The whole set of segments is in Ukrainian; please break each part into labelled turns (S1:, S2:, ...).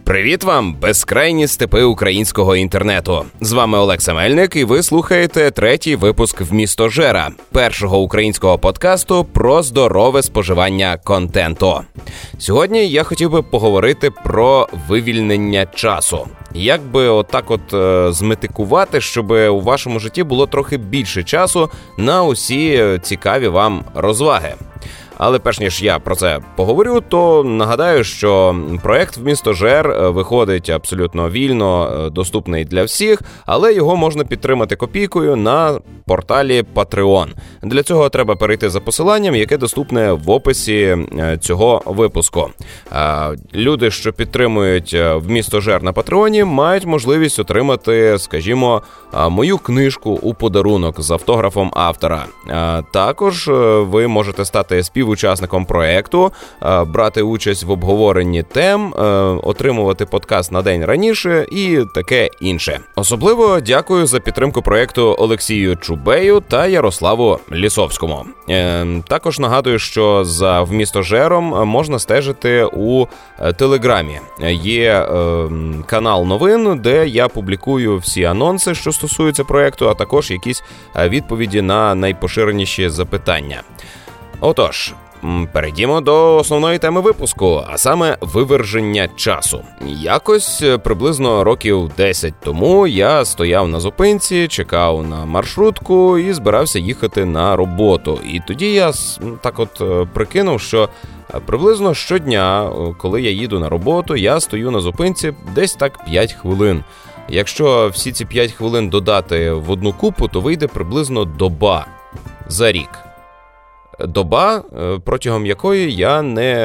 S1: Привіт вам, безкрайні степи українського інтернету. З вами Олекса Мельник, і ви слухаєте третій випуск «Вмістожера» – першого українського подкасту про здорове споживання контенту. Сьогодні я хотів би поговорити про вивільнення часу. Як би отак зметикувати, щоб у вашому житті було трохи більше часу на усі цікаві вам розваги. Але перш ніж я про це поговорю, то нагадаю, що проект «Вмістожер» виходить абсолютно вільно, доступний для всіх, але його можна підтримати копійкою на порталі Patreon. Для цього треба перейти за посиланням, яке доступне в описі цього випуску. Люди, що підтримують «Вмістожер» на Патреоні, мають можливість отримати, скажімо, мою книжку у подарунок з автографом автора. Також ви можете стати співучасником проекту, брати участь в обговоренні тем, отримувати подкаст на день раніше і таке інше. Особливо дякую за підтримку проекту Олексію Чубею та Ярославу Лісовському. Також нагадую, що за «Вмістожером» можна стежити у Телеграмі. Є канал новин, де я публікую всі анонси, що стосуються проекту, а також якісь відповіді на найпоширеніші запитання. Отож, перейдімо до основної теми випуску, а саме виверження часу. Якось приблизно років 10 тому я стояв на зупинці, чекав на маршрутку і збирався їхати на роботу. І тоді я прикинув, що приблизно щодня, коли я їду на роботу, я стою на зупинці десь так 5 хвилин. Якщо всі ці 5 хвилин додати в одну купу, то вийде приблизно доба за рік. Доба, протягом якої я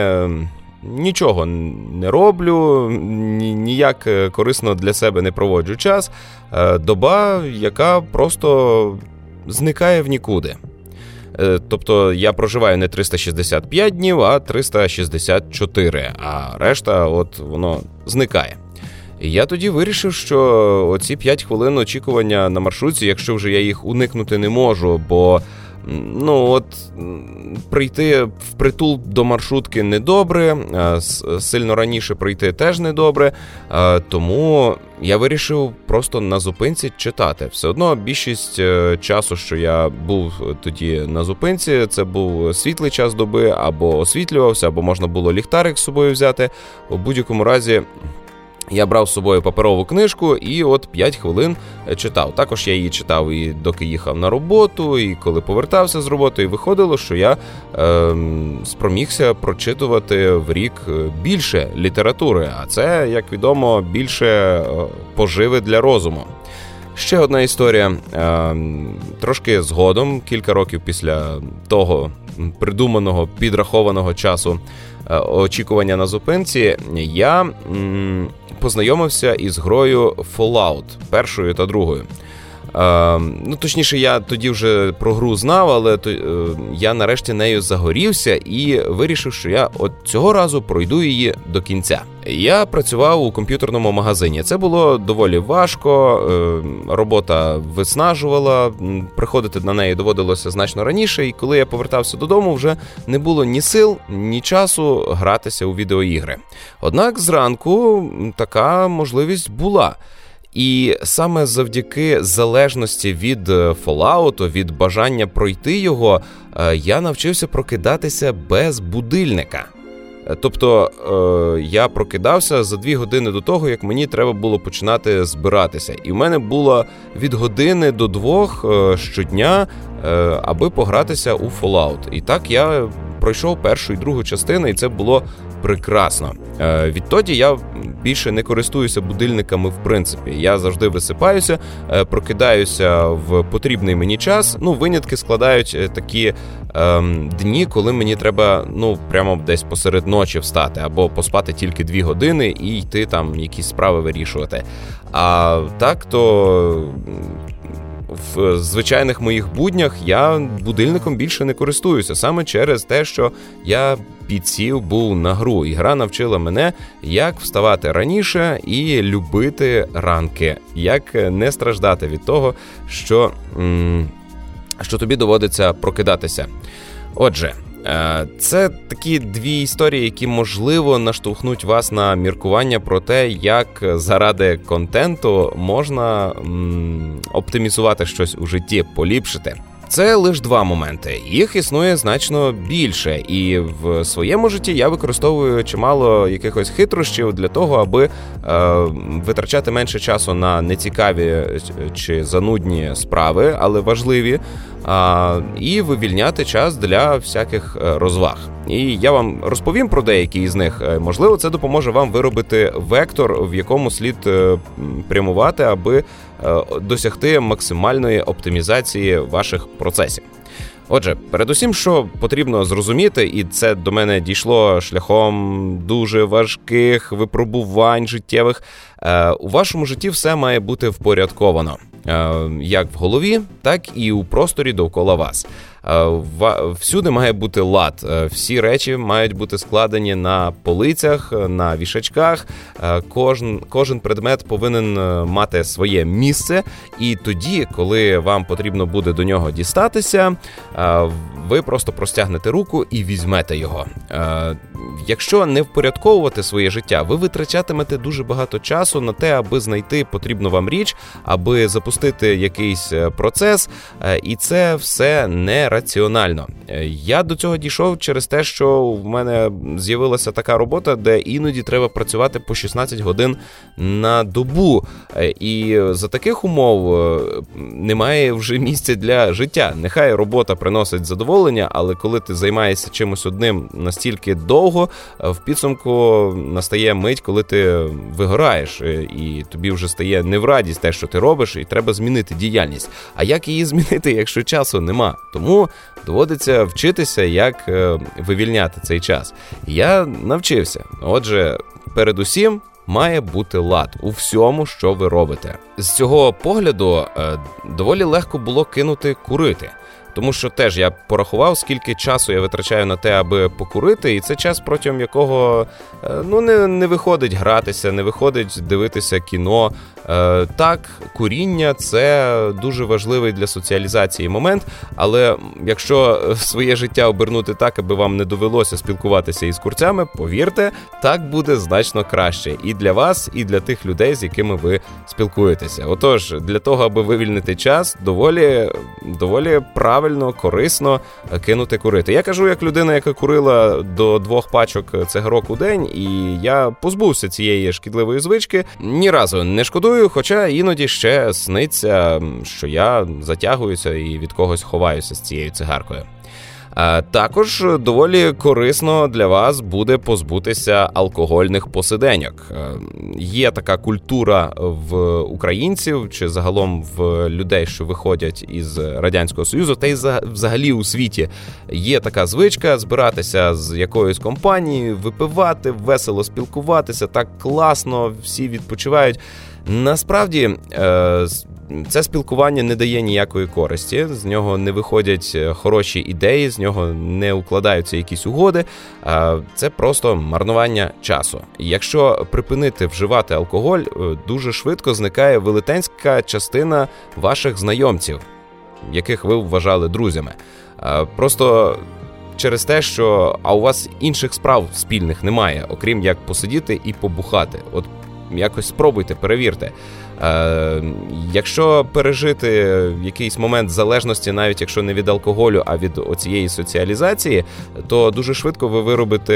S1: нічого не роблю, ніяк корисно для себе не проводжу час. Доба, яка просто зникає в нікуди. Тобто я проживаю не 365 днів, а 364, а решта воно зникає. І я тоді вирішив, що оці 5 хвилин очікування на маршрутці, якщо вже я їх уникнути не можу, бо прийти впритул до маршрутки недобре, сильно раніше прийти теж недобре, тому я вирішив просто на зупинці читати. Все одно більшість часу, що я був тоді на зупинці, це був світлий час доби, або освітлювався, або можна було ліхтарик з собою взяти. У будь-якому разі я брав з собою паперову книжку і 5 хвилин читав. Також я її читав і доки їхав на роботу, і коли повертався з роботи. І виходило, що я спромігся прочитувати в рік більше літератури. А це, як відомо, більше поживи для розуму. Ще одна історія. Трошки згодом, кілька років після того придуманого, підрахованого часу очікування на зупинці, я познайомився із грою Fallout, першою та другою. Точніше, я тоді вже про гру знав, але я нарешті нею загорівся і вирішив, що я цього разу пройду її до кінця. Я працював у комп'ютерному магазині. Це було доволі важко, робота виснажувала, приходити на неї доводилося значно раніше, і коли я повертався додому, вже не було ні сил, ні часу гратися у відеоігри. Однак зранку така можливість була. І саме завдяки залежності від Fallout, від бажання пройти його, я навчився прокидатися без будильника. Тобто я прокидався за 2 години до того, як мені треба було починати збиратися. І в мене було від години до 2 щодня, аби погратися у Fallout. І так я пройшов першу і другу частину, і це було прекрасно. Відтоді я більше не користуюся будильниками в принципі. Я завжди висипаюся, прокидаюся в потрібний мені час. Винятки складають такі дні, коли мені треба, прямо десь посеред ночі встати, або поспати тільки 2 години і йти там якісь справи вирішувати. А так то в звичайних моїх буднях я будильником більше не користуюся, саме через те, що я підсів був на гру. І гра навчила мене, як вставати раніше і любити ранки, як не страждати від того, що тобі доводиться прокидатися. Отже, Це такі дві історії, які, можливо, наштовхнуть вас на міркування про те, як заради контенту можна оптимізувати щось у житті, поліпшити. Це лише два моменти. Їх існує значно більше. І в своєму житті я використовую чимало якихось хитрощів для того, аби витрачати менше часу на нецікаві чи занудні справи, але важливі, і вивільняти час для всяких розваг. І я вам розповім про деякі із них. Можливо, це допоможе вам виробити вектор, в якому слід прямувати, аби досягти максимальної оптимізації ваших процесів. Отже, передусім, що потрібно зрозуміти, і це до мене дійшло шляхом дуже важких випробувань життєвих, у вашому житті все має бути впорядковано. Як в голові, так і у просторі довкола вас. Всюди має бути лад. Всі речі мають бути складені на полицях, на вішачках. Кожен предмет повинен мати своє місце. І тоді, коли вам потрібно буде до нього дістатися, ви просто простягнете руку і візьмете його. Якщо не впорядковувати своє життя, ви витрачатимете дуже багато часу на те, аби знайти потрібну вам річ, аби запустити якийсь процес, і це все нераціонально. Я до цього дійшов через те, що в мене з'явилася така робота, де іноді треба працювати по 16 годин на добу, і за таких умов немає вже місця для життя. Нехай робота приносить задоволення, але коли ти займаєшся чимось одним настільки довго, в підсумку настає мить, коли ти вигораєш, і тобі вже стає не в радість те, що ти робиш, і треба змінити діяльність. А як її змінити, якщо часу нема? Тому доводиться вчитися, як вивільняти цей час. Я навчився. Отже, передусім, має бути лад у всьому, що ви робите. З цього погляду доволі легко було кинути курити. Тому що теж я порахував, скільки часу я витрачаю на те, аби покурити, і це час, протягом якого не виходить гратися, не виходить дивитися кіно. Так, куріння – це дуже важливий для соціалізації момент, але якщо своє життя обернути так, аби вам не довелося спілкуватися із курцями, повірте, так буде значно краще і для вас, і для тих людей, з якими ви спілкуєтеся. Отож, для того, аби вивільнити час, доволі правильно, корисно кинути курити. Я кажу, як людина, яка курила до 2 пачок цигарок у день, і я позбувся цієї шкідливої звички, ні разу не шкодую, хоча іноді ще сниться, що я затягуюся і від когось ховаюся з цією цигаркою. Також доволі корисно для вас буде позбутися алкогольних посиденьок. Є така культура в українців, чи загалом в людей, що виходять із Радянського Союзу, та й взагалі у світі. Є така звичка збиратися з якоюсь компанією, випивати, весело спілкуватися, так класно, всі відпочивають. Насправді, це спілкування не дає ніякої користі, з нього не виходять хороші ідеї, з нього не укладаються якісь угоди, це просто марнування часу. Якщо припинити вживати алкоголь, дуже швидко зникає велетенська частина ваших знайомців, яких ви вважали друзями. Просто через те, що у вас інших справ спільних немає, окрім як посидіти і побухати. От якось спробуйте, перевірте. Якщо пережити якийсь момент залежності, навіть якщо не від алкоголю, а від оцієї соціалізації, то дуже швидко ви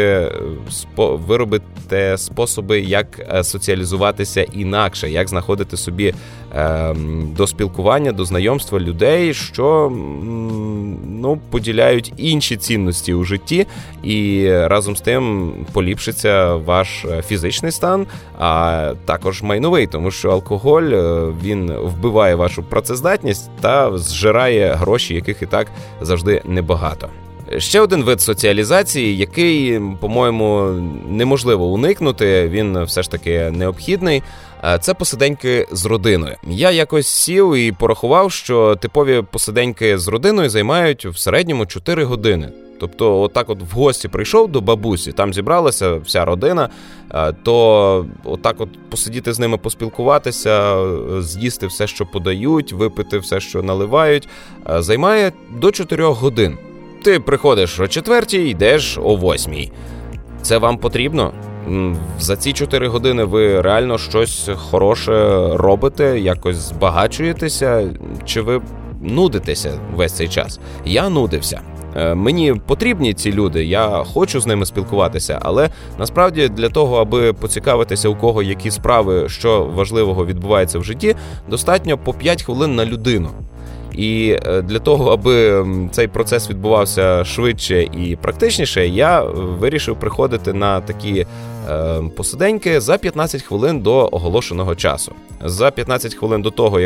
S1: виробите способи, як соціалізуватися інакше, як знаходити собі до спілкування, до знайомства людей, що поділяють інші цінності у житті, і разом з тим поліпшиться ваш фізичний стан, а також майновий, тому що алкоголь, він вбиває вашу працездатність та зжирає гроші, яких і так завжди небагато. Ще один вид соціалізації, який, по-моєму, неможливо уникнути, він все ж таки необхідний, це посиденьки з родиною. Я якось сів і порахував, що типові посиденьки з родиною займають в середньому 4 години. Тобто, отак от в гості прийшов до бабусі, там зібралася вся родина, то отак от посидіти з ними, поспілкуватися, з'їсти все, що подають, випити все, що наливають, займає до 4 годин. Ти приходиш о 4:00, йдеш о 8:00. Це вам потрібно? За ці 4 години ви реально щось хороше робите, якось збагачуєтеся, чи ви нудитеся весь цей час? Я нудився. Мені потрібні ці люди, я хочу з ними спілкуватися, але насправді для того, аби поцікавитися, у кого які справи, що важливого відбувається в житті, достатньо по 5 хвилин на людину. І для того, аби цей процес відбувався швидше і практичніше, я вирішив приходити на такі посиденьки за 15 хвилин до оголошеного часу. За 15 хвилин до того,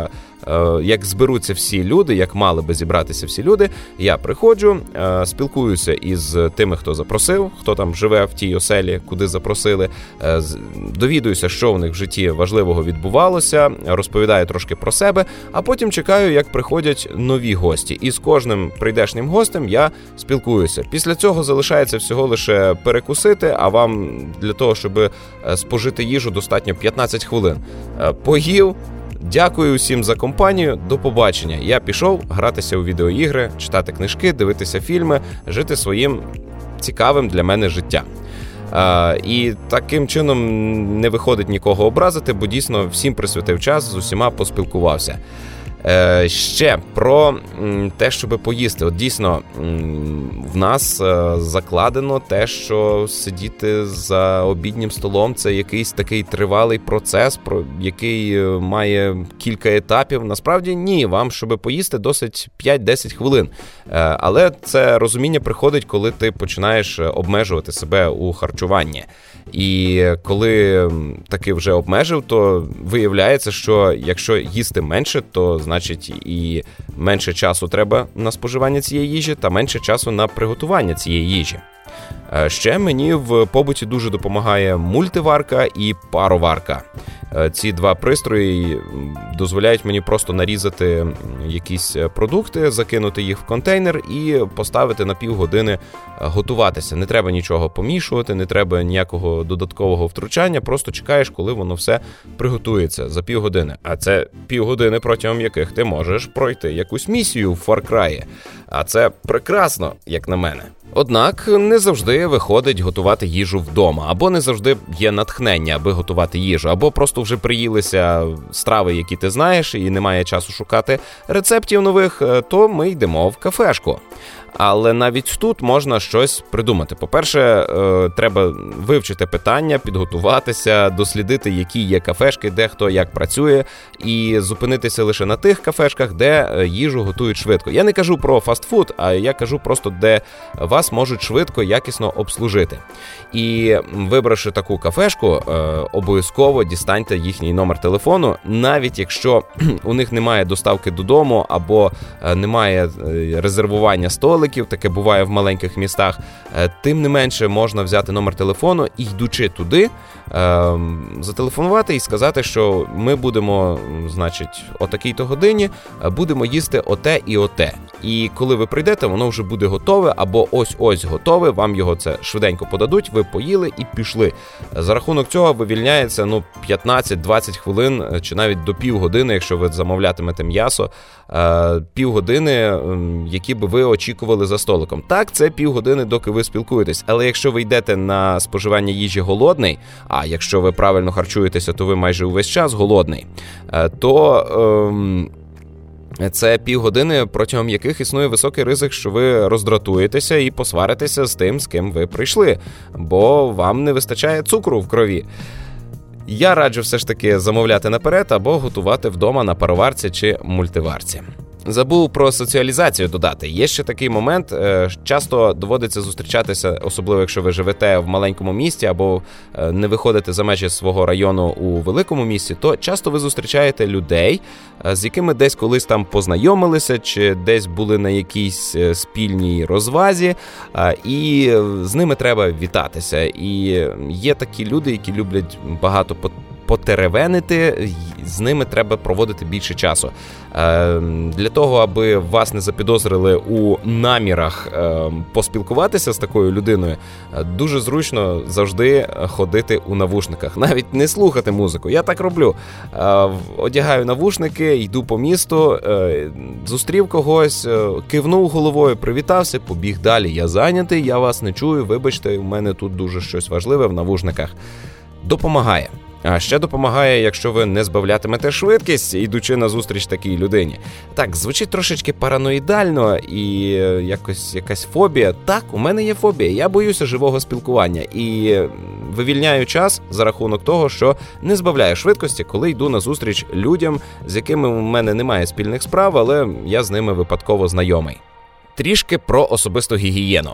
S1: як зберуться всі люди, як мали би зібратися всі люди, я приходжу, спілкуюся із тими, хто запросив, хто там живе в тій оселі, куди запросили, довідуюся, що в них в житті важливого відбувалося, розповідаю трошки про себе, а потім чекаю, як приходять нові гості. І з кожним прийдешнім гостем я спілкуюся. Після цього залишається всього лише перекусити, а вам для того, щоб спожити їжу, достатньо 15 хвилин. Поїв. Дякую усім за компанію, до побачення. Я пішов гратися у відеоігри, читати книжки, дивитися фільми, жити своїм цікавим для мене життям. І таким чином не виходить нікого образити, бо дійсно всім присвятив час, з усіма поспілкувався. Ще про те, щоб поїсти. От дійсно, в нас закладено те, що сидіти за обіднім столом – це якийсь такий тривалий процес, який має кілька етапів. Насправді ні, вам, щоб поїсти, досить 5-10 хвилин. Але це розуміння приходить, коли ти починаєш обмежувати себе у харчуванні. І коли таки вже обмежив, то виявляється, що якщо їсти менше, то значить і менше часу треба на споживання цієї їжі та менше часу на приготування цієї їжі. Ще мені в побуті дуже допомагає мультиварка і пароварка. Ці два пристрої дозволяють мені просто нарізати якісь продукти, закинути їх в контейнер і поставити на півгодини готуватися. Не треба нічого помішувати, не треба ніякого додаткового втручання, просто чекаєш, коли воно все приготується за півгодини. А це півгодини, протягом яких ти можеш пройти якусь місію в Far Cry. А це прекрасно, як на мене. Однак не завжди виходить готувати їжу вдома, або не завжди є натхнення, аби готувати їжу, або просто вже приїлися страви, які ти знаєш, і немає часу шукати рецептів нових, то ми йдемо в кафешку. Але навіть тут можна щось придумати. По-перше, треба вивчити питання, підготуватися, дослідити, які є кафешки, де хто як працює, і зупинитися лише на тих кафешках, де їжу готують швидко. Я не кажу про фастфуд, а я кажу просто, де вас можуть швидко, якісно обслужити. І вибравши таку кафешку, обов'язково дістаньте їхній номер телефону, навіть якщо у них немає доставки додому або немає резервування столиків, таке буває в маленьких містах, тим не менше можна взяти номер телефону і, йдучи туди, зателефонувати і сказати, що ми будемо, значить, о такій-то годині будемо їсти оте і оте. І коли ви прийдете, воно вже буде готове, або ось-ось готове, вам його це швиденько подадуть, ви поїли і пішли. За рахунок цього вивільняється 15-20 хвилин, чи навіть до півгодини, якщо ви замовлятимете м'ясо, півгодини, які би ви очікували за столиком. Так, це півгодини, доки ви спілкуєтесь, але якщо ви йдете на споживання їжі голодний, а якщо ви правильно харчуєтеся, то ви майже увесь час голодний, то це півгодини, протягом яких існує високий ризик, що ви роздратуєтеся і посваритеся з тим, з ким ви прийшли, бо вам не вистачає цукру в крові. Я раджу все ж таки замовляти наперед або готувати вдома на пароварці чи мультиварці. Забув про соціалізацію додати. Є ще такий момент, часто доводиться зустрічатися, особливо якщо ви живете в маленькому місті або не виходите за межі свого району у великому місті, то часто ви зустрічаєте людей, з якими десь колись там познайомилися, чи десь були на якійсь спільній розвазі, і з ними треба вітатися. І є такі люди, які люблять багато потеревенити, з ними треба проводити більше часу. Для того, аби вас не запідозрили у намірах поспілкуватися з такою людиною, дуже зручно завжди ходити у навушниках, навіть не слухати музику. Я так роблю. Одягаю навушники, йду по місту, зустрів когось, кивнув головою, привітався, побіг далі. Я зайнятий, я вас не чую, вибачте, у мене тут дуже щось важливе в навушниках. Допомагає. А ще допомагає, якщо ви не збавлятимете швидкість, ідучи на зустріч такій людині. Так, звучить трошечки параноїдально і якась фобія. Так, у мене є фобія, я боюся живого спілкування і вивільняю час за рахунок того, що не збавляю швидкості, коли йду на зустріч людям, з якими у мене немає спільних справ, але я з ними випадково знайомий. Трішки про особисту гігієну.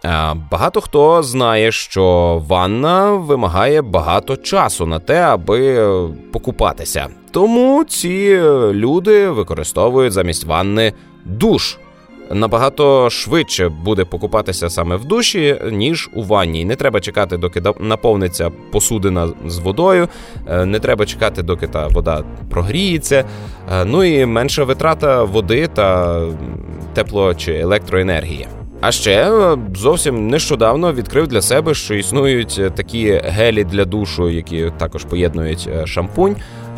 S1: Багато хто знає, що ванна вимагає багато часу на те, аби покупатися. Тому ці люди використовують замість ванни душ. Набагато швидше буде покупатися саме в душі, ніж у ванні. Не треба чекати, доки наповниться посудина з водою, не треба чекати, доки та вода прогріється. Ну і менша витрата води та тепло- чи електроенергії. А ще зовсім нещодавно відкрив для себе, що існують такі гелі для душу, які також поєднують шампунь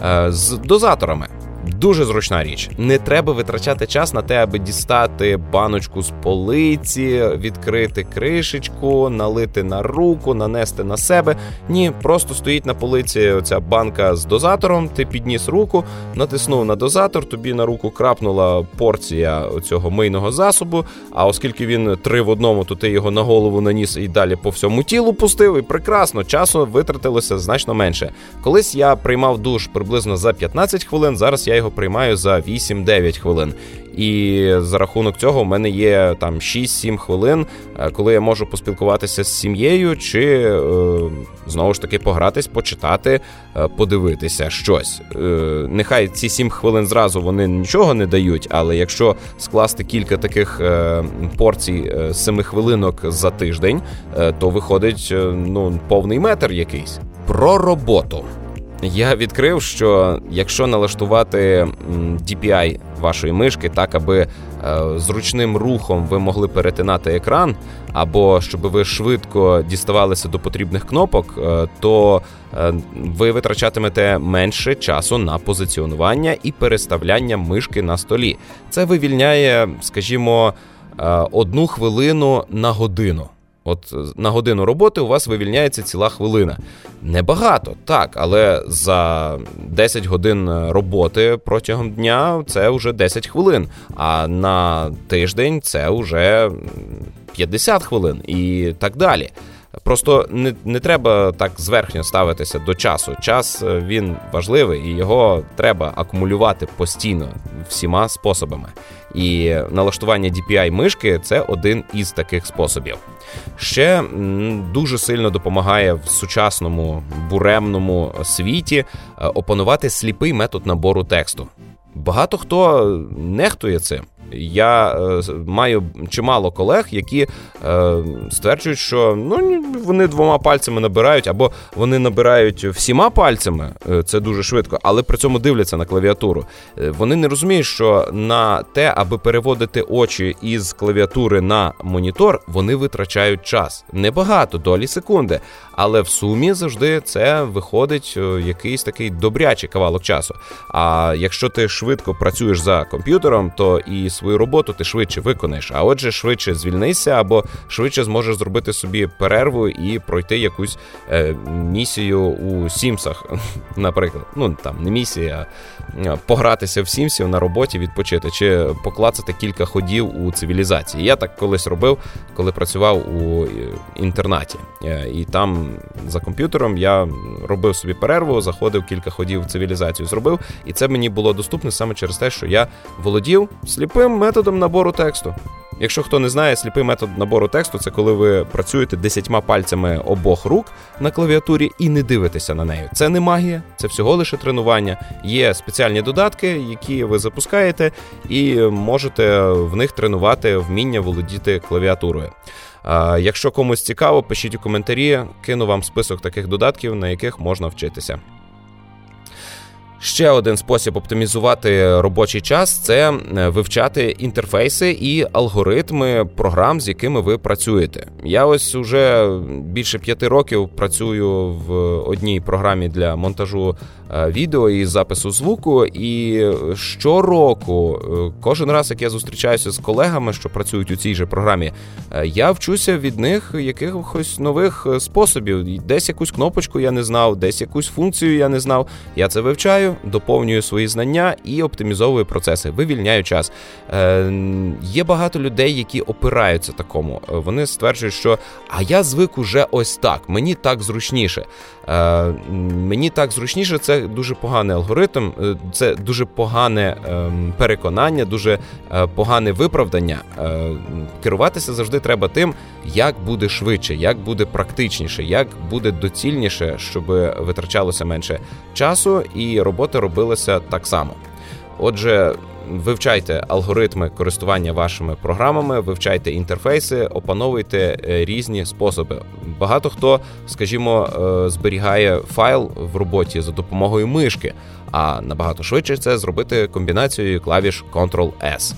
S1: з дозаторами. Дуже зручна річ. Не треба витрачати час на те, аби дістати баночку з полиці, відкрити кришечку, налити на руку, нанести на себе. Ні, просто стоїть на полиці оця банка з дозатором, ти підніс руку, натиснув на дозатор, тобі на руку крапнула порція цього мийного засобу, а оскільки він 3 в 1, то ти його на голову наніс і далі по всьому тілу пустив, і прекрасно, часу витратилося значно менше. Колись я приймав душ приблизно за 15 хвилин, зараз я його приймаю за 8-9 хвилин. І за рахунок цього в мене є там 6-7 хвилин, коли я можу поспілкуватися з сім'єю чи, знову ж таки, погратись, почитати, подивитися щось. Нехай ці 7 хвилин зразу вони нічого не дають, але якщо скласти кілька таких порцій 7 хвилинок за тиждень, то виходить повний метр якийсь. Про роботу. Я відкрив, що якщо налаштувати DPI вашої мишки так, аби зручним рухом ви могли перетинати екран, або щоб ви швидко діставалися до потрібних кнопок, то ви витрачатимете менше часу на позиціонування і переставляння мишки на столі. Це вивільняє, скажімо, 1 хвилину на годину. От на годину роботи у вас вивільняється ціла хвилина. Небагато, так, але за 10 годин роботи протягом дня це вже 10 хвилин, а на тиждень це вже 50 хвилин і так далі. Просто не треба так зверхньо ставитися до часу. Час, він важливий, і його треба акумулювати постійно всіма способами. І налаштування DPI мишки – це один із таких способів. Ще дуже сильно допомагає в сучасному буремному світі опанувати сліпий метод набору тексту. Багато хто нехтує цим. Я маю чимало колег, які стверджують, що вони 2 пальцями набирають, або вони набирають всіма пальцями, це дуже швидко, але при цьому дивляться на клавіатуру. Вони не розуміють, що на те, аби переводити очі із клавіатури на монітор, вони витрачають час. Небагато, долі секунди, але в сумі завжди це виходить якийсь такий добрячий кавалок часу. А якщо ти швидко працюєш за комп'ютером, то і свою роботу ти швидше виконаєш, а отже швидше звільнися або швидше зможеш зробити собі перерву і пройти якусь місію у Сімсах, наприклад. Не місія, а погратися в Сімсів на роботі, відпочити, чи поклацати кілька ходів у цивілізації. Я так колись робив, коли працював у інтернаті. І там за комп'ютером я робив собі перерву, заходив, кілька ходів в цивілізацію зробив, і це мені було доступне саме через те, що я володів сліпим методом набору тексту. Якщо хто не знає, сліпий метод набору тексту – це коли ви працюєте 10 пальцями обох рук на клавіатурі і не дивитеся на неї. Це не магія, це всього лише тренування. Є спеціальні додатки, які ви запускаєте, і можете в них тренувати вміння володіти клавіатурою. Якщо комусь цікаво, пишіть у коментарі, кину вам список таких додатків, на яких можна вчитися. Ще один спосіб оптимізувати робочий час – це вивчати інтерфейси і алгоритми програм, з якими ви працюєте. Я ось уже більше 5 років працюю в одній програмі для монтажу відео і запису звуку, і щороку, кожен раз, як я зустрічаюся з колегами, що працюють у цій же програмі, я вчуся від них якихось нових способів. Десь якусь кнопочку я не знав, десь якусь функцію я не знав. Я це вивчаю, доповнюю свої знання і оптимізовую процеси, вивільняю час. Є багато людей, які опираються такому. Вони стверджують, що «а я звик уже ось так, мені так зручніше». Мені так зручніше – це дуже поганий алгоритм, це дуже погане переконання, дуже погане виправдання. Керуватися завжди треба тим, як буде швидше, як буде практичніше, як буде доцільніше, щоб витрачалося менше часу і робота робилася так само. Отже, вивчайте алгоритми користування вашими програмами, вивчайте інтерфейси, опановуйте різні способи. Багато хто, скажімо, зберігає файл в роботі за допомогою мишки, а набагато швидше це зробити комбінацією клавіш Ctrl-S.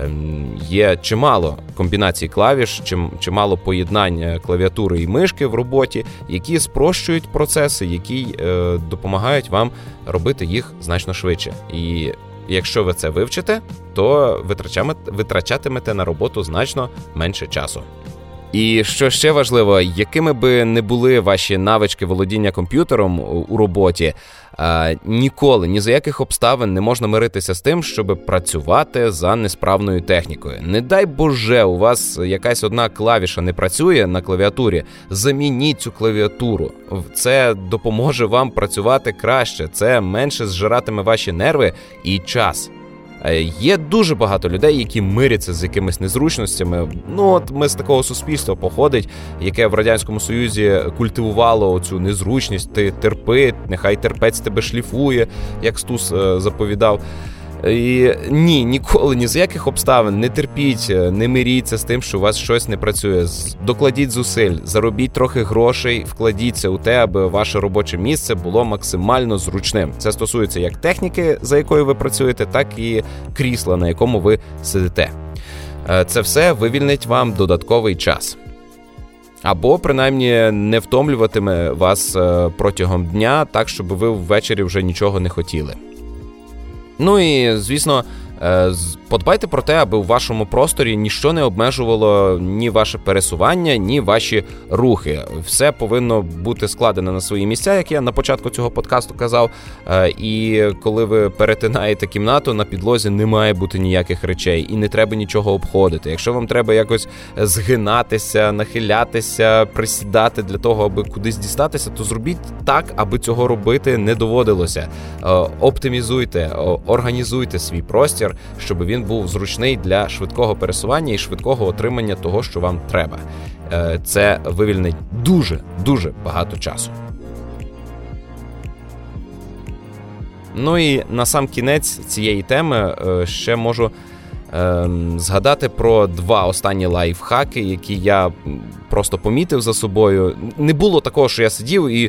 S1: Є чимало комбінацій клавіш, чимало поєднань клавіатури і мишки в роботі, які спрощують процеси, які допомагають вам робити їх значно швидше. І якщо ви це вивчите, то витрачатимете на роботу значно менше часу. І що ще важливо, якими би не були ваші навички володіння комп'ютером у роботі, ніколи, ні за яких обставин не можна миритися з тим, щоб працювати за несправною технікою. Не дай Боже, у вас якась одна клавіша не працює на клавіатурі, замініть цю клавіатуру. Це допоможе вам працювати краще, це менше зжиратиме ваші нерви і час. Є дуже багато людей, які миряться з якимись незручностями. Ми з такого суспільства походить, яке в Радянському Союзі культивувало цю незручність. Ти терпи, нехай терпець тебе шліфує, як Стус заповідав. І ні, ніколи, ні за яких обставин не терпіть, не миріться з тим, що у вас щось не працює. Докладіть зусиль, заробіть трохи грошей, вкладіться у те, аби ваше робоче місце було максимально зручним. Це стосується як техніки, за якою ви працюєте, так і крісла, на якому ви сидите. Це все вивільнить вам додатковий час. Або, принаймні, не втомлюватиме вас протягом дня так, щоб ви ввечері вже нічого не хотіли. І, звісно, подбайте про те, аби у вашому просторі ніщо не обмежувало ні ваше пересування, ні ваші рухи. Все повинно бути складено на свої місця, як я на початку цього подкасту казав. І коли ви перетинаєте кімнату, на підлозі не має бути ніяких речей і не треба нічого обходити. Якщо вам треба якось згинатися, нахилятися, присідати для того, аби кудись дістатися, то зробіть так, аби цього робити не доводилося. Оптимізуйте, організуйте свій простір, щоб він був зручний для швидкого пересування і швидкого отримання того, що вам треба. Це вивільнить дуже багато часу. І на сам кінець цієї теми ще можу згадати про 2 останні лайфхаки, які я просто помітив за собою. Не було такого, що я сидів і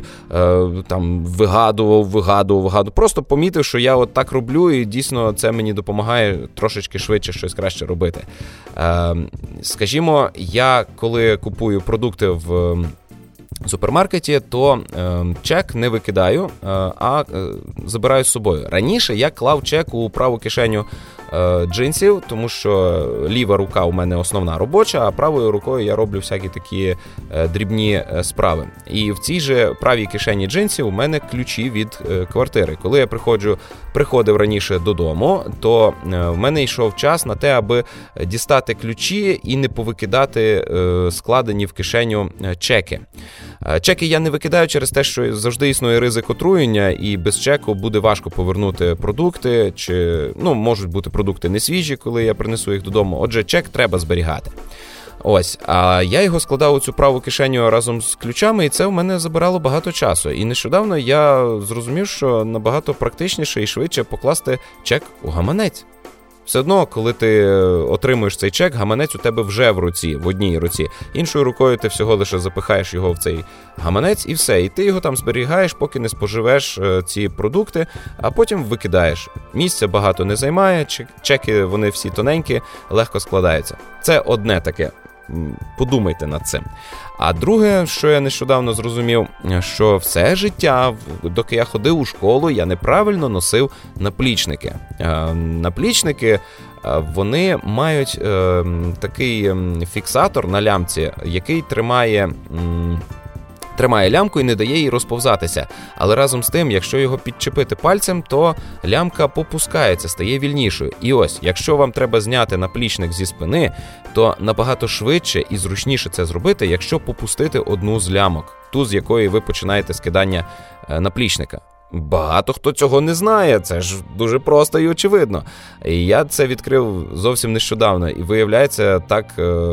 S1: вигадував. Просто помітив, що я от так роблю, і дійсно це мені допомагає трошечки швидше щось краще робити. Скажімо, я коли купую продукти в супермаркеті, то чек не викидаю, а забираю з собою. Раніше я клав чек у праву кишеню джинсів, тому що ліва рука у мене основна робоча, а правою рукою я роблю всякі такі дрібні справи. І в цій же правій кишені джинсів у мене ключі від квартири. Коли я приходив раніше додому, то в мене йшов час на те, аби дістати ключі і не повикидати складені в кишеню чеки. Чеки я не викидаю через те, що завжди існує ризик отруєння, і без чеку буде важко повернути продукти, чи можуть бути продукти не свіжі, коли я принесу їх додому. Отже, чек треба зберігати. А я його складав у цю праву кишеню разом з ключами, і це в мене забирало багато часу. І нещодавно я зрозумів, що набагато практичніше і швидше покласти чек у гаманець. Все одно, коли ти отримуєш цей чек, гаманець у тебе вже в руці, в одній руці. Іншою рукою ти всього лише запихаєш його в цей гаманець і все. І ти його там зберігаєш, поки не споживеш ці продукти, а потім викидаєш. Місця багато не займає, чеки вони всі тоненькі, легко складаються. Це одне таке. Подумайте над цим. А друге, що я нещодавно зрозумів, що все життя, доки я ходив у школу, я неправильно носив наплічники. Наплічники, вони мають такий фіксатор на лямці, який тримає лямку і не дає їй розповзатися. Але разом з тим, якщо його підчепити пальцем, то лямка попускається, стає вільнішою. І ось, якщо вам треба зняти наплічник зі спини, то набагато швидше і зручніше це зробити, якщо попустити одну з лямок, ту, з якої ви починаєте скидання наплічника. Багато хто цього не знає, це ж дуже просто і очевидно. І я це відкрив зовсім нещодавно, і виявляється, так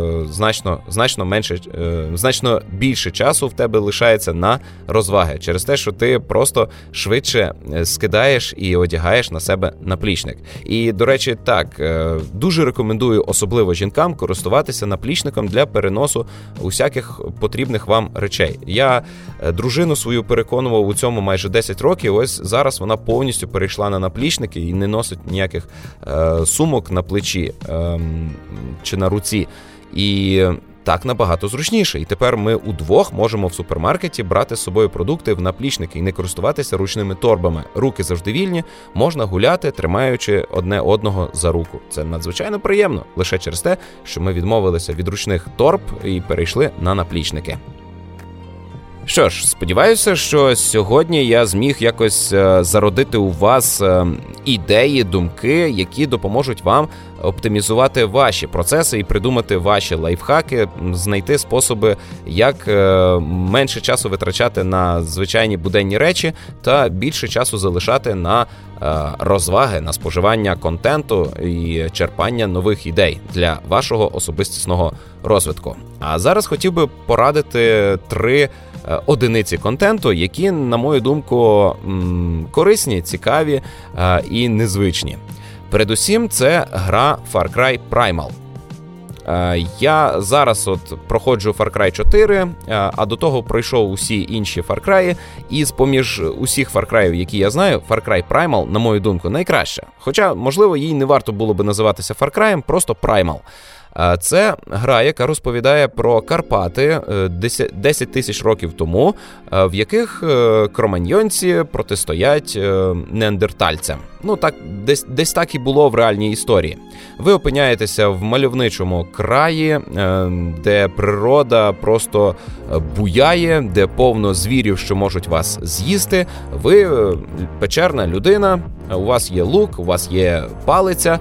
S1: значно більше часу в тебе лишається на розваги, через те, що ти просто швидше скидаєш і одягаєш на себе наплічник. І, до речі, так, дуже рекомендую, особливо жінкам, користуватися наплічником для переносу усяких потрібних вам речей. Я дружину свою переконував у цьому майже 10 років. Ось зараз вона повністю перейшла на наплічники і не носить ніяких сумок на плечі чи на руці. І так набагато зручніше. І тепер ми удвох можемо в супермаркеті брати з собою продукти в наплічники і не користуватися ручними торбами. Руки завжди вільні, можна гуляти, тримаючи одне одного за руку. Це надзвичайно приємно, лише через те, що ми відмовилися від ручних торб і перейшли на наплічники. Що ж, сподіваюся, що сьогодні я зміг якось зародити у вас ідеї, думки, які допоможуть вам оптимізувати ваші процеси і придумати ваші лайфхаки, знайти способи, як менше часу витрачати на звичайні буденні речі та більше часу залишати на розваги, на споживання контенту і черпання нових ідей для вашого особистісного розвитку. А зараз хотів би порадити 3 одиниці контенту, які, на мою думку, корисні, цікаві і незвичні. Передусім, це гра Far Cry Primal. Я зараз проходжу Far Cry 4, а до того пройшов усі інші Far Cry, і з-поміж усіх Far Cry'ів, які я знаю, Far Cry Primal, на мою думку, найкраща. Хоча, можливо, їй не варто було би називатися Far Cry'ем, просто Primal. Це гра, яка розповідає про Карпати 10 тисяч років тому, в яких кроманьйонці протистоять неандертальцям. Ну, так, десь так і було в реальній історії. Ви опиняєтеся в мальовничому краї, де природа просто буяє, де повно звірів, що можуть вас з'їсти. Ви печерна людина, у вас є лук, у вас є палиця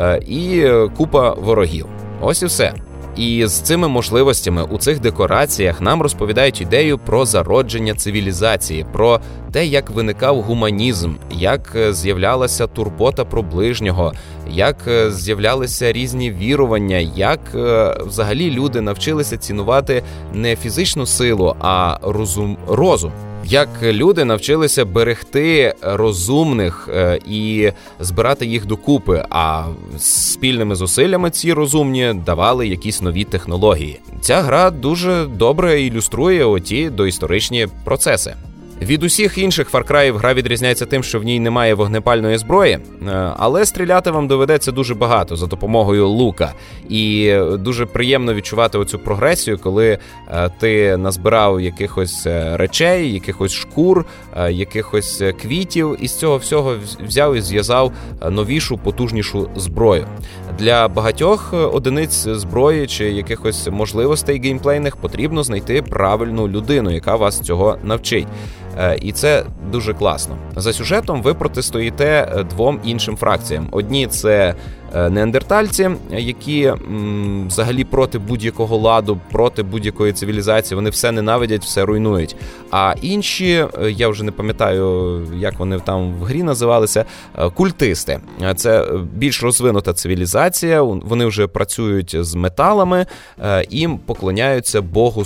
S1: і купа ворогів. Ось і все. І з цими можливостями у цих декораціях нам розповідають ідею про зародження цивілізації, про те, як виникав гуманізм, як з'являлася турбота про ближнього, як з'являлися різні вірування, як взагалі люди навчилися цінувати не фізичну силу, а розум. Як люди навчилися берегти розумних і збирати їх докупи, а спільними зусиллями ці розумні давали якісь нові технології. Ця гра дуже добре ілюструє оті доісторичні процеси. Від усіх інших Far Cry'ів гра відрізняється тим, що в ній немає вогнепальної зброї, але стріляти вам доведеться дуже багато за допомогою лука. І дуже приємно відчувати оцю прогресію, коли ти назбирав якихось речей, якихось шкур, якихось квітів, і з цього всього взяв і зв'язав новішу, потужнішу зброю. Для багатьох одиниць зброї чи якихось можливостей геймплейних потрібно знайти правильну людину, яка вас цього навчить. І це дуже класно. За сюжетом ви протистоїте 2 іншим фракціям. Одні – це неандертальці, які взагалі проти будь-якого ладу, проти будь-якої цивілізації, вони все ненавидять, все руйнують. А інші, я вже не пам'ятаю, як вони там в грі називалися, культисти. Це більш розвинута цивілізація, вони вже працюють з металами, їм поклоняються Богу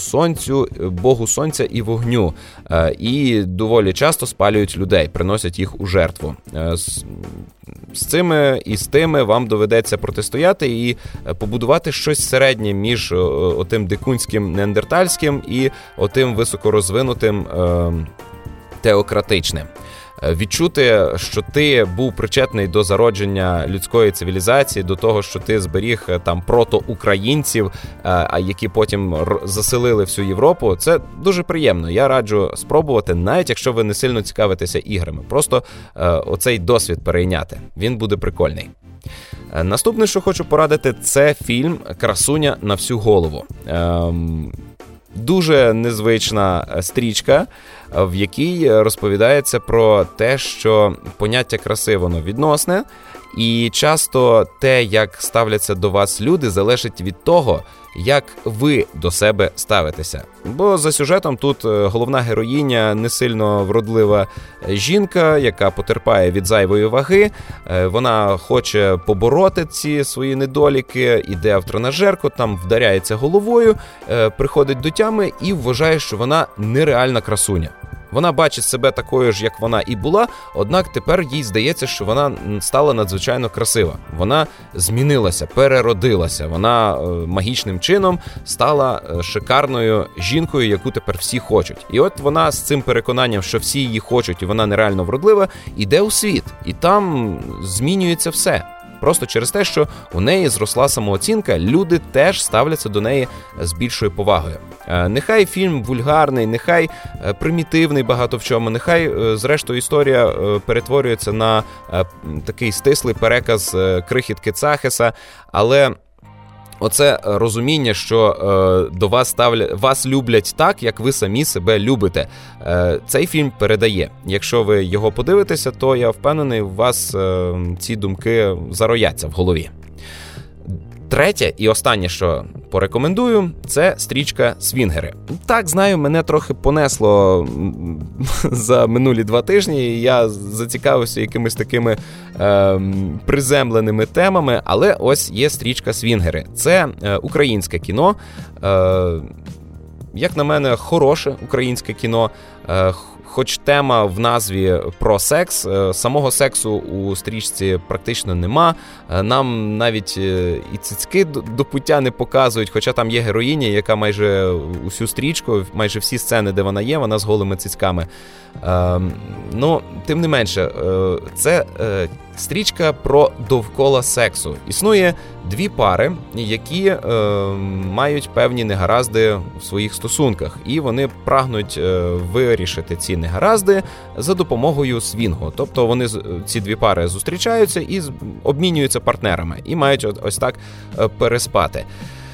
S1: Сонця і вогню. І доволі часто спалюють людей, приносять їх у жертву. з цими і з тими вам доведеться протистояти і побудувати щось середнє між отим дикунським неандертальським і отим високорозвинутим теократичним. Відчути, що ти був причетний до зародження людської цивілізації, до того, що ти зберіг там протоукраїнців, які потім заселили всю Європу, це дуже приємно. Я раджу спробувати, навіть якщо ви не сильно цікавитеся іграми. Просто оцей досвід перейняти. Він буде прикольний. Наступне, що хочу порадити, це фільм «Красуня на всю голову». Дуже незвична стрічка, в якій розповідається про те, що поняття краси, воно відносне, і часто те, як ставляться до вас люди, залежить від того, як ви до себе ставитеся. Бо за сюжетом тут головна героїня не сильно вродлива жінка, яка потерпає від зайвої ваги. Вона хоче побороти ці свої недоліки, іде в тренажерку, там вдаряється головою, приходить до тями і вважає, що вона нереальна красуня. Вона бачить себе такою ж, як вона і була, однак тепер їй здається, що вона стала надзвичайно красива. Вона змінилася, переродилася, вона магічним чином стала шикарною жінкою, яку тепер всі хочуть. І от вона з цим переконанням, що всі її хочуть і вона нереально вродлива, іде у світ. І там змінюється все. Просто через те, що у неї зросла самооцінка, люди теж ставляться до неї з більшою повагою. Нехай фільм вульгарний, нехай примітивний багато в чому, нехай, зрештою, історія перетворюється на такий стислий переказ крихітки Цахеса, але оце розуміння, що до вас люблять так, як ви самі себе любите. Цей фільм передає. Якщо ви його подивитеся, то я впевнений, у вас ці думки зарояться в голові. Третє і останнє, що порекомендую, це стрічка «Свінгери». Так, знаю, мене трохи понесло за минулі 2 тижні, і я зацікавився якимись такими приземленими темами, але ось є стрічка «Свінгери». Це українське кіно, як на мене, хороше українське кіно, хоч тема в назві про секс, самого сексу у стрічці практично нема. Нам навіть і цицьки до пуття не показують, хоча там є героїня, яка майже усю стрічку, майже всі сцени, де вона є, вона з голими цицьками. Ну, тим не менше, це стрічка про довкола сексу. Існує 2 пари, які мають певні негаразди в своїх стосунках, і вони прагнуть вирішити ці негаразди за допомогою свінгу. Тобто вони, ці 2 пари, зустрічаються і обмінюються партнерами, і мають ось так переспати.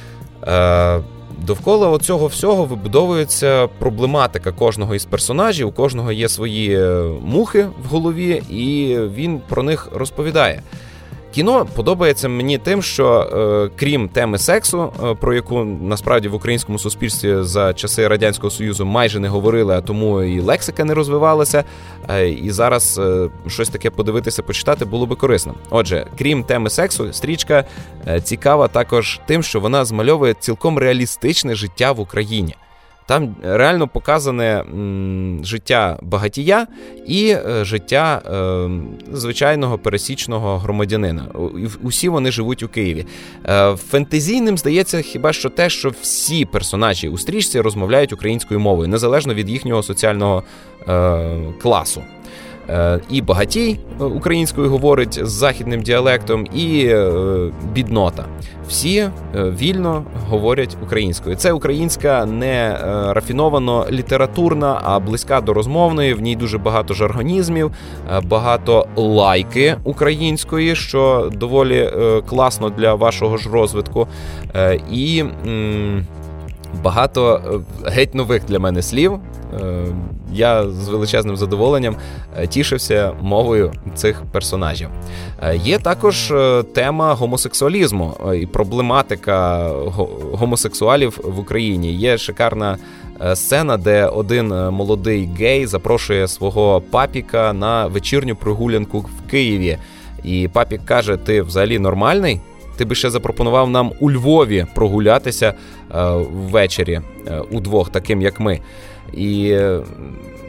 S1: Довкола цього всього вибудовується проблематика кожного із персонажів, у кожного є свої мухи в голові, і він про них розповідає. Кіно подобається мені тим, що крім теми сексу, про яку насправді в українському суспільстві за часи Радянського Союзу майже не говорили, а тому і лексика не розвивалася, і зараз щось таке подивитися, почитати було би корисно. Отже, крім теми сексу, стрічка цікава також тим, що вона змальовує цілком реалістичне життя в Україні. Там реально показане життя багатія і життя звичайного пересічного громадянина. Усі вони живуть у Києві. Фентезійним здається хіба що те, що всі персонажі у стрічці розмовляють українською мовою, незалежно від їхнього соціального класу. І багатій українською говорить з західним діалектом, і біднота. Всі вільно говорять українською. Це українська не рафіновано літературна, а близька до розмовної. В ній дуже багато жаргонізмів, багато лайки української, що доволі класно для вашого ж розвитку. І багато геть нових для мене слів. Я з величезним задоволенням тішився мовою цих персонажів. Є також тема гомосексуалізму і проблематика гомосексуалів в Україні. Є шикарна сцена, де один молодий гей запрошує свого папіка на вечірню прогулянку в Києві. І папік каже: ти взагалі нормальний? Ти би ще запропонував нам у Львові прогулятися ввечері удвох, таким як ми. І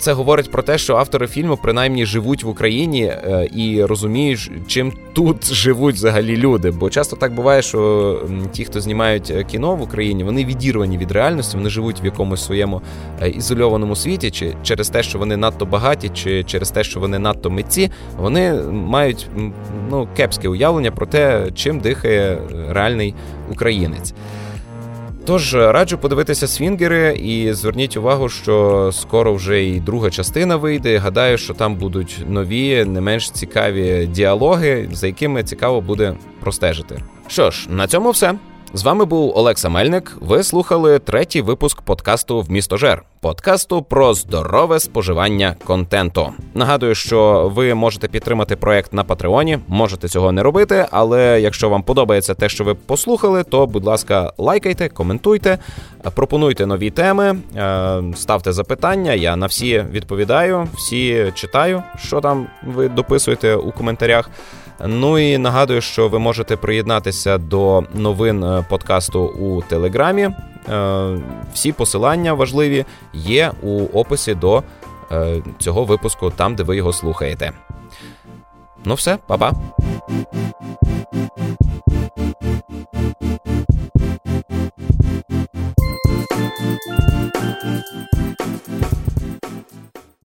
S1: це говорить про те, що автори фільму принаймні живуть в Україні і розуміють, чим тут живуть взагалі люди. Бо часто так буває, що ті, хто знімають кіно в Україні, вони відірвані від реальності, вони живуть в якомусь своєму ізольованому світі, чи через те, що вони надто багаті, чи через те, що вони надто митці, вони мають кепське уявлення про те, чим дихає реальний українець. Тож, раджу подивитися «Свінгери» і зверніть увагу, що скоро вже і друга частина вийде. Гадаю, що там будуть нові, не менш цікаві діалоги, за якими цікаво буде простежити. Що ж, на цьому все. З вами був Олекса Мельник. Ви слухали 3-й випуск подкасту «Вмістожер». Подкасту про здорове споживання контенту. Нагадую, що ви можете підтримати проект на Патреоні, можете цього не робити, але якщо вам подобається те, що ви послухали, то, будь ласка, лайкайте, коментуйте, пропонуйте нові теми, ставте запитання, я на всі відповідаю, всі читаю, що там ви дописуєте у коментарях. Ну і нагадую, що ви можете приєднатися до новин подкасту у Телеграмі. Всі посилання важливі є у описі до цього випуску, там, де ви його слухаєте. Ну все, па-па!